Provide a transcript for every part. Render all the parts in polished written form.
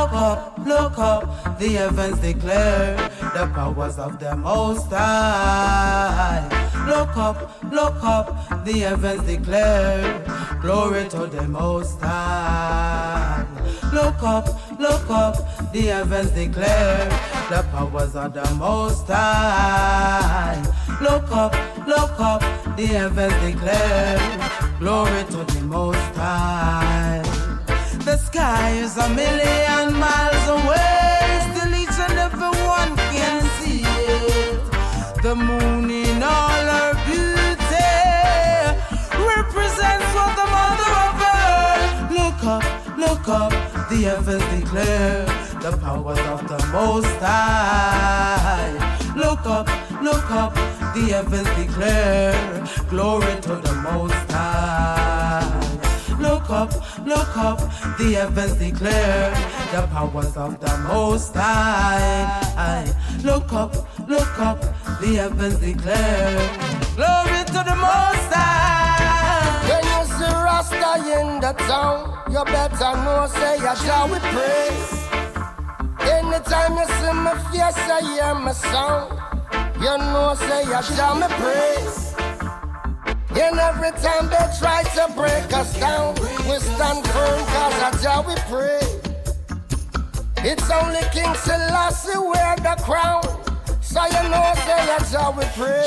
look up, the heavens declare the powers of the Most High. Look up, the heavens declare glory to the Most High. Look up, the heavens declare the powers of the Most High. Look up, the heavens declare glory to the Most High. The sky is 1,000,000 miles away, still each and every one can see it. The moon in all her beauty represents what the mother of earth. Look up, the heavens declare the powers of the Most High. Look up, the heavens declare glory to the Most High. Look up, the heavens declare the powers of the Most High. Look up, the heavens declare glory to the Most High. When you see Rasta in the town, you better know say you shall we praise. Anytime you see my face, I hear my sound. You know say you shall me praise. And every time they try to break us down, we stand firm cause that's how we pray. It's only King Selassie wear the crown, so you know say that's how we pray.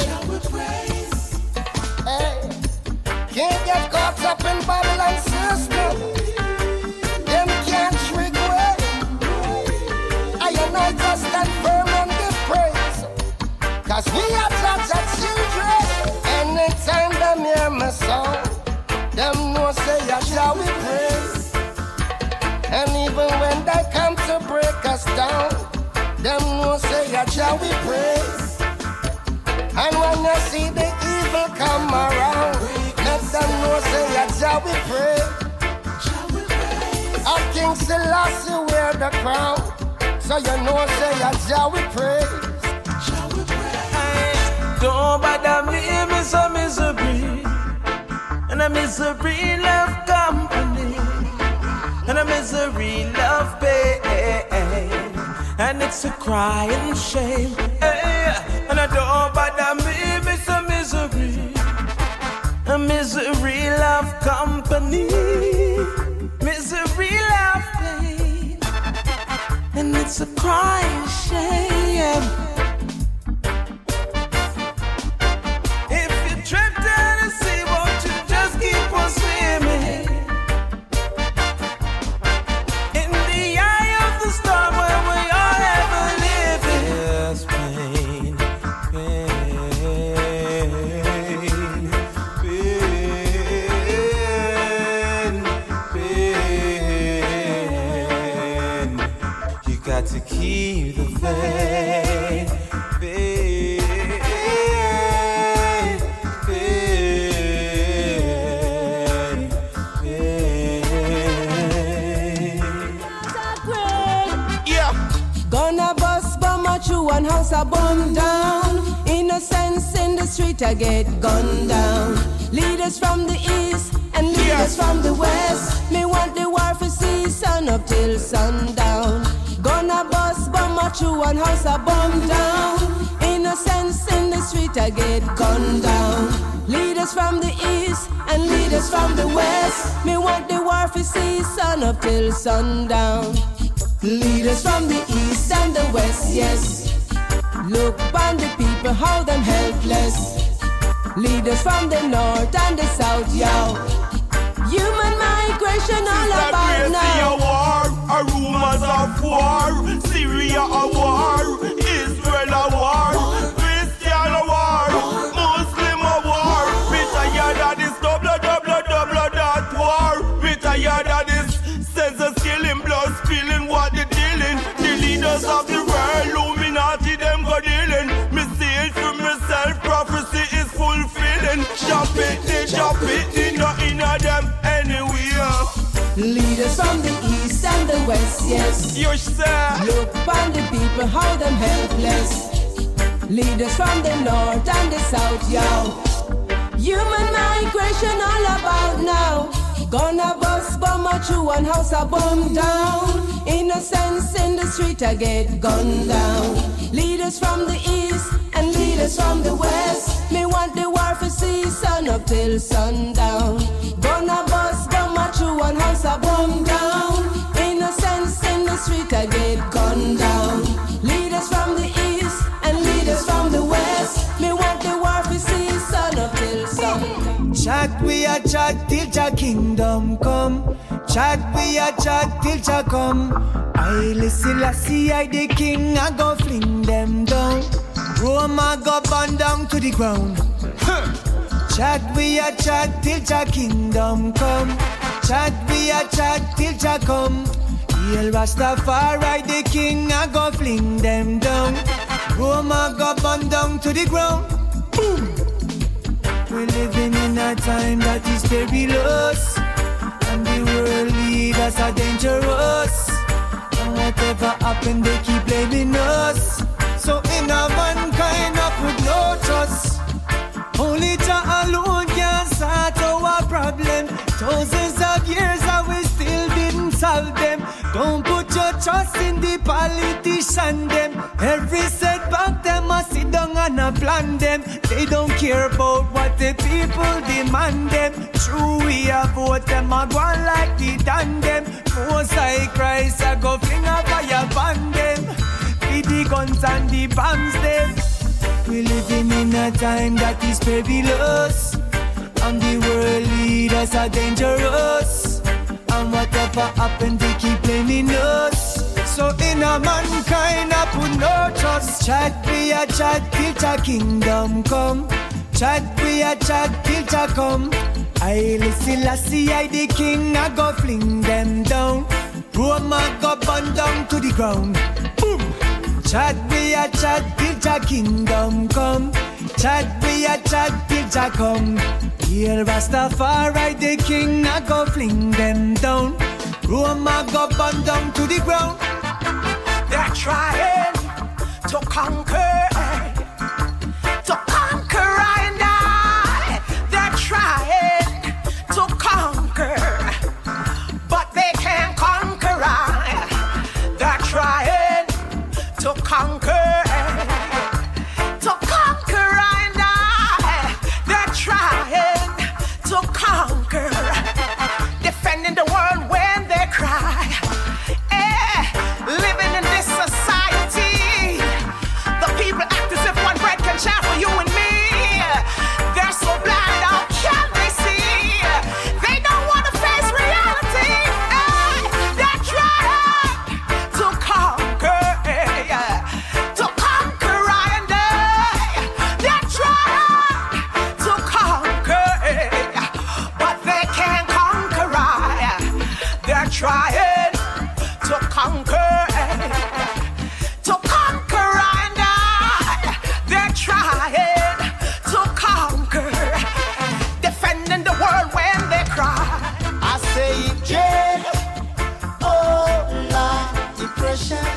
Hey, can't get caught up in Babylon system. Them can't trick way. I and I just stand firm and give praise, cause we are God's children. Anytime them hear my song, them know say I shall we praise. And even when they come to break us down, them know say I shall we praise. And when you see the evil come around, let them know say I shall we pray. Our King Selassie wear the crown, so you know say I shall we praise. Don't bother me, miss a misery. And a misery love company. And a misery love pain. And it's a crying shame. And I don't bother me, miss a misery. A misery love company. Misery love pain. And it's a crying shame. Keep the faith, Yeah. Gonna bust bomber through one house a bomb down. Innocents in the street I get gunned down. Leaders from the east and leaders from the west. Me want the war for see sun up till sundown. Gonna bust bomber through one house a bomb down. Innocents in the street I get gunned down. Leaders from the east and leaders from the west. Me want the war for see sun up till sundown. Leaders from the east and the west, yes. Look on the people, how them helpless. Leaders from the north and the south, yo. Human migration all about now. A war, a rumors of war. Syria a war, Israel a war, Christian a war, Muslim a war. We tired of this double that war. We tired of this census killing, blood spilling, what they dealing. The leaders of the world, Illuminati them go dealing. Me see it for myself, prophecy is fulfilling. Chop it, not in them anywhere. Leaders from the east and the west, yes. You say. Look on the people, how them helpless. Leaders from the north and the south, yo. Human migration all about now. Gonna bust, bomb a true one house a bomb down. Innocence in the street I get gunned down. Leaders from the east and leaders from the west. Me want the war for see sun up till sundown. Gonna bust, bomb a true one house a bomb down. Innocence in the street I get gunned down. Leaders from the east and leaders from the west. Me want the war for see sun up till sundown. Chat we a chat till Jah kingdom come. Chat we a chat till Jah come. I listen, I see I the king, I go fling them down. Rome I go burn down to the ground. Chat we a chat till Jah kingdom come. Chat we a chat till Jah come. Hail Rastafari the king, I go fling them down. Rome I go burn down to the ground. Boom. We're living in a time that is perilous, and the world leaders are dangerous. And whatever happened, they keep blaming us. So in a mankind, I put no trust. Only Jah alone can sort our problem. Thousands of years and we still didn't solve them. Don't put your trust in the politician them. Every setback them must sit down and a plan them. They don't care about what the people demand them. True we a vote them a go on like the tandem. Most high Christ a go fling a fire upon them. With the guns and the bombs them. We living in a time that is perilous, and the world leaders are dangerous. And whatever happened, they keep blaming us. So in a mankind, I put no trust. Chat we a chat till Jah kingdom come. Chat we a chat till Jah come. I listen, I see I the king, I go fling them down. Rome I go burn down to the ground. Boom. Chat we a chat till Jah kingdom come. Chat we a chat till Jah come. Hail Rastafari the king, I go fling them down. Rome I go burn down to the ground. They're trying to conquer, I and I. They're trying to conquer, but they can't conquer I. They're trying to conquer, I and I. They're trying to conquer, defending the world when they cry. Living in this society, the people act as if one bread can share for you and me. They're so blind, how can they see? They don't want to face reality. They're trying to conquer, I and I. They're trying to conquer, but they can't conquer I. They're trying to conquer, I and I. They're trying to conquer, defending the world when they cry. I say jail, oh Lord, depression.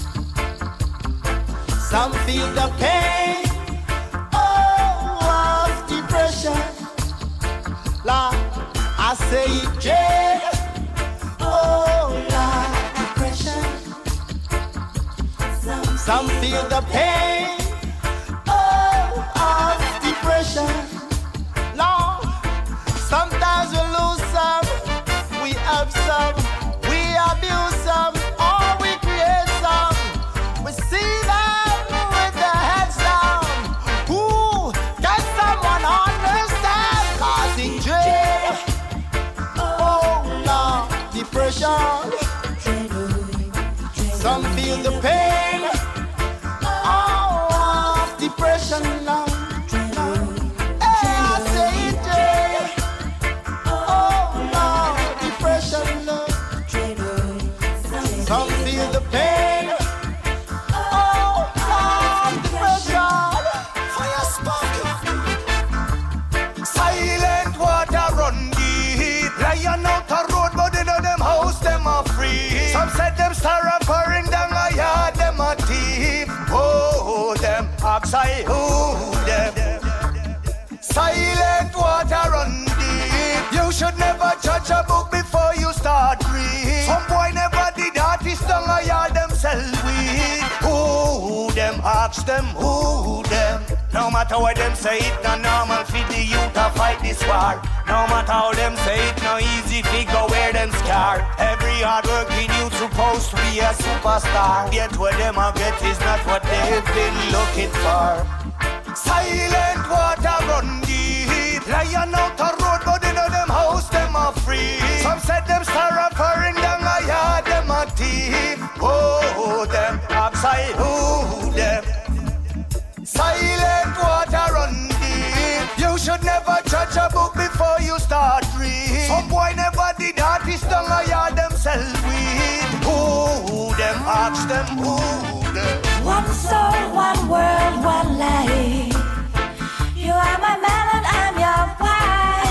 Some feel the pain, oh, of depression. Lord, I say jail, oh Lord, depression. Some feel the pain, oh, of depression. Lord, sometimes we lose some, we have some, we abuse some, or we create some. We see them with their heads down. Ooh, can someone understand? Causing jail, oh Lord, depression. Some feel the pain, oh, of depression, Lord. Hey, I say it, jail, oh Lord, depression, Lord. Some feel the pain, oh Lord, depression. Fire spark. Silent water run deep. Lion out a road, but in them house them are free. Some said them star pouring down a yard, them a thief. Oh, them ask I who them. Silent water run deep. You should never judge judge a book before you start read. Some boy never did artist down a yard themselves weak. Who them ask them, who them? No matter what them say, it no normal for the youth to fight this war. No matter how them say it, no easy figure where them scar. Every hard-working youth supposed to be a superstar. Yet what them a get is not what they've been looking for. Silent water run deep. Lion out the road, but in them house them are free. Some said them star offering down a yard, them a thief. Oh, them outside, who them? Silent water run deep. You should never judge a book before you start read. Some boy never did artist down a yard themselves weed. Who them ask them, who them? One soul, one world, one life. You are my man and I'm your wife.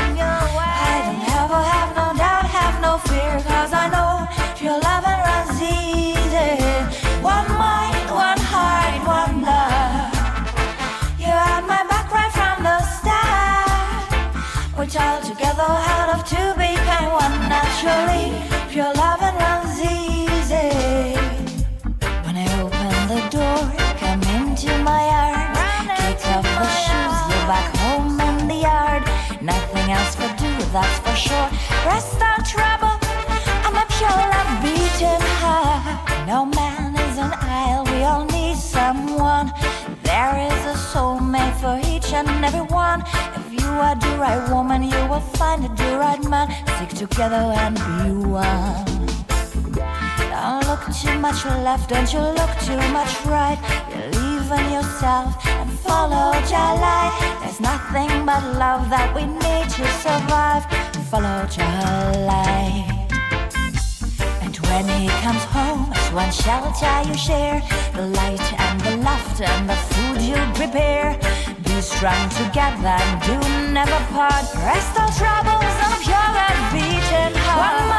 I don't ever have no doubt, have no fear, cause I know your love and runs easy. One mind, one heart, one love. You had my back right from the start. Which all together out of two became one naturally. Pure love and runs easy. When I open the door, come into my arms. Kick off the shoes, you're back home in the yard. Nothing else for do, that's for sure. Rest our trouble, I'm a pure love beating heart. No man is an isle, we all need someone. There is a soul made for each and every one. If you are the right woman, you will find the right man. Stick together and be one. Don't look too much left, don't you look too much right. Believe in yourself and follow your light. There's nothing but love that we need to survive. Follow your light. And when he comes home, it's one shelter you share. The light and the laughter and the food you prepare. Be strong together and do never part. Rest all troubles on a pure and beaten heart.